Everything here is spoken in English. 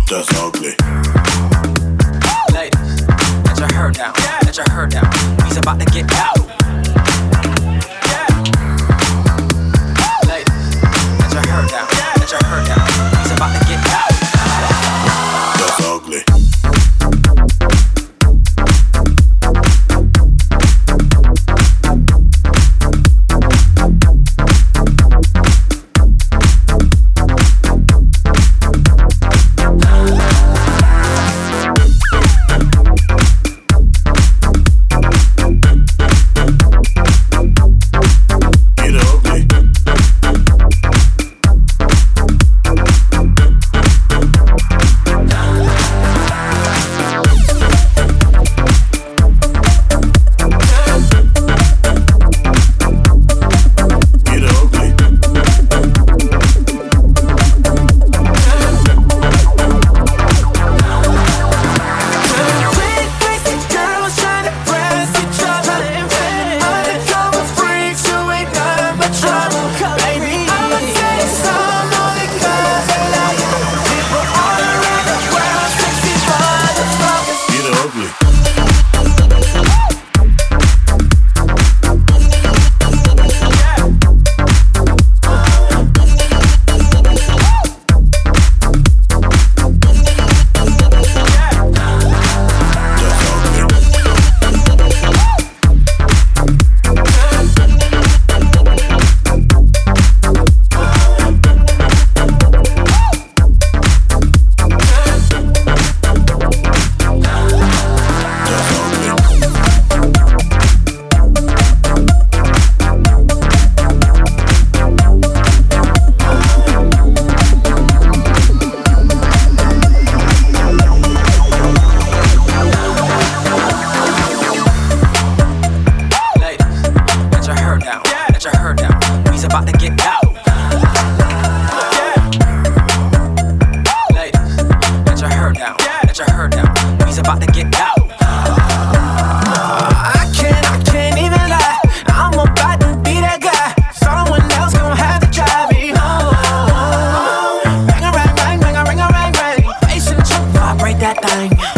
That's ugly. Ladies, let your hair down, let your hair down. He's about to get out. Ladies, let your hair down, let your hair down. He's about to get out. That's ugly. Let your hair down. He's about to get out. Ladies, let your hair down. Let your hair down. He's about to get out. I can't even lie. I'm about to be that guy. Someone else gon' have to drive me home. Bang a rang, bang, bang a ring, a rang, rang. Bass in the truck, vibrate that thing.